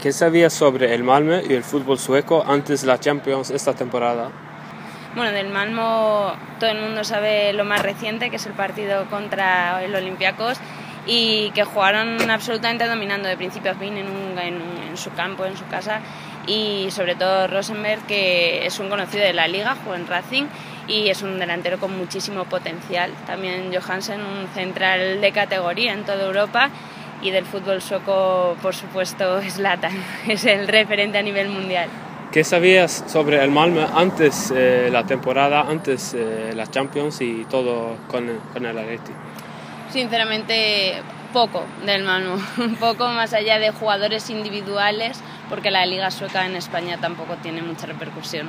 ¿Qué sabías sobre el Malmö y el fútbol sueco antes de la Champions esta temporada? Bueno, del Malmö todo el mundo sabe lo más reciente, que es el partido contra el Olympiacos, y que jugaron absolutamente dominando de principio a fin en su campo, en su casa, y sobre todo Rosenberg, que es un conocido de la liga, jugó en Racing y es un delantero con muchísimo potencial. También Johansen, un central de categoría en toda Europa, y del fútbol sueco, por supuesto, Zlatan, es el referente a nivel mundial. ¿Qué sabías sobre el Malmö antes la temporada, antes la Champions y todo con el Atleti? Sinceramente, poco del Malmö, un poco más allá de jugadores individuales, porque la liga sueca en España tampoco tiene mucha repercusión.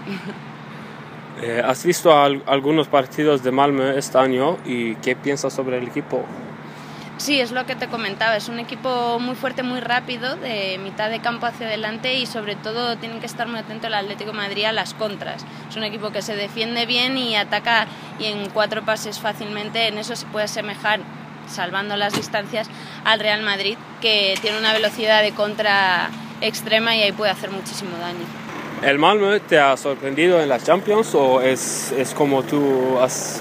¿Has visto algunos partidos de Malmö este año y qué piensas sobre el equipo? Sí, es lo que te comentaba, es un equipo muy fuerte, muy rápido, de mitad de campo hacia adelante, y sobre todo tienen que estar muy atentos el Atlético de Madrid a las contras. Es un equipo que se defiende bien y ataca, y en 4 pases fácilmente. En eso se puede asemejar, salvando las distancias, al Real Madrid, que tiene una velocidad de contra extrema y ahí puede hacer muchísimo daño. ¿El Malmö te ha sorprendido en la Champions o es como tú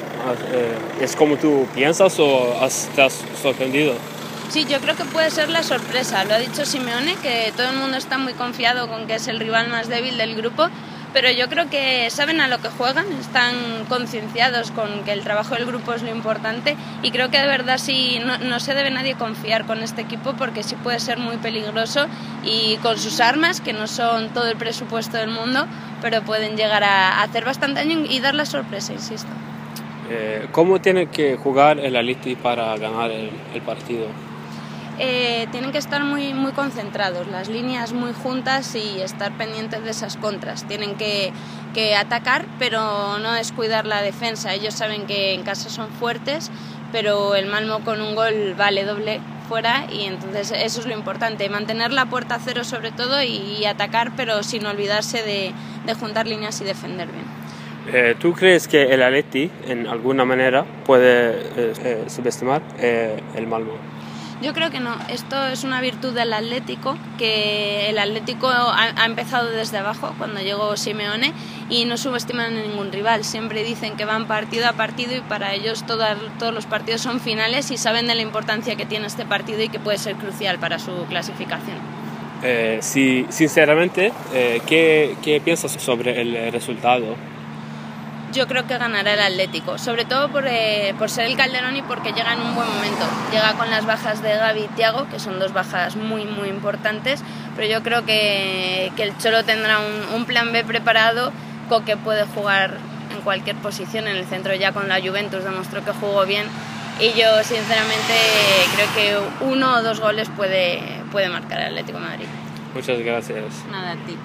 es como tú piensas o te has sorprendido? Sí, yo creo que puede ser la sorpresa. Lo ha dicho Simeone, que todo el mundo está muy confiado con que es el rival más débil del grupo, pero yo creo que saben a lo que juegan, están concienciados con que el trabajo del grupo es lo importante, y creo que de verdad sí, no se debe nadie confiar con este equipo, porque sí puede ser muy peligroso, y con sus armas, que no son todo el presupuesto del mundo, pero pueden llegar a hacer bastante daño y dar la sorpresa, insisto. ¿Cómo tiene que jugar el Atleti para ganar el partido? Tienen que estar muy, muy concentrados, las líneas muy juntas, y estar pendientes de esas contras. Tienen que atacar, pero no descuidar la defensa. Ellos saben que en casa son fuertes, pero el Malmö con un gol vale doble fuera, y entonces eso es lo importante, mantener la puerta a cero sobre todo, y atacar, pero sin olvidarse de juntar líneas y defender bien. ¿Tú crees que el Atleti en alguna manera puede subestimar el Malmö? Yo creo que no. Esto es una virtud del Atlético, que el Atlético ha empezado desde abajo cuando llegó Simeone, y no subestiman a ningún rival. Siempre dicen que van partido a partido, y para ellos todos los partidos son finales, y saben de la importancia que tiene este partido y que puede ser crucial para su clasificación. Sí, sinceramente, ¿qué piensas sobre el resultado? Yo creo que ganará el Atlético, sobre todo por ser el Calderón y porque llega en un buen momento. Llega con las bajas de Gavi y Thiago, que son 2 bajas muy, muy importantes, pero yo creo que el Cholo tendrá un plan B preparado, con que puede jugar en cualquier posición. En el centro ya con la Juventus demostró que jugó bien, y yo sinceramente creo que 1 o 2 goles puede marcar el Atlético de Madrid. Muchas gracias. Nada, a ti.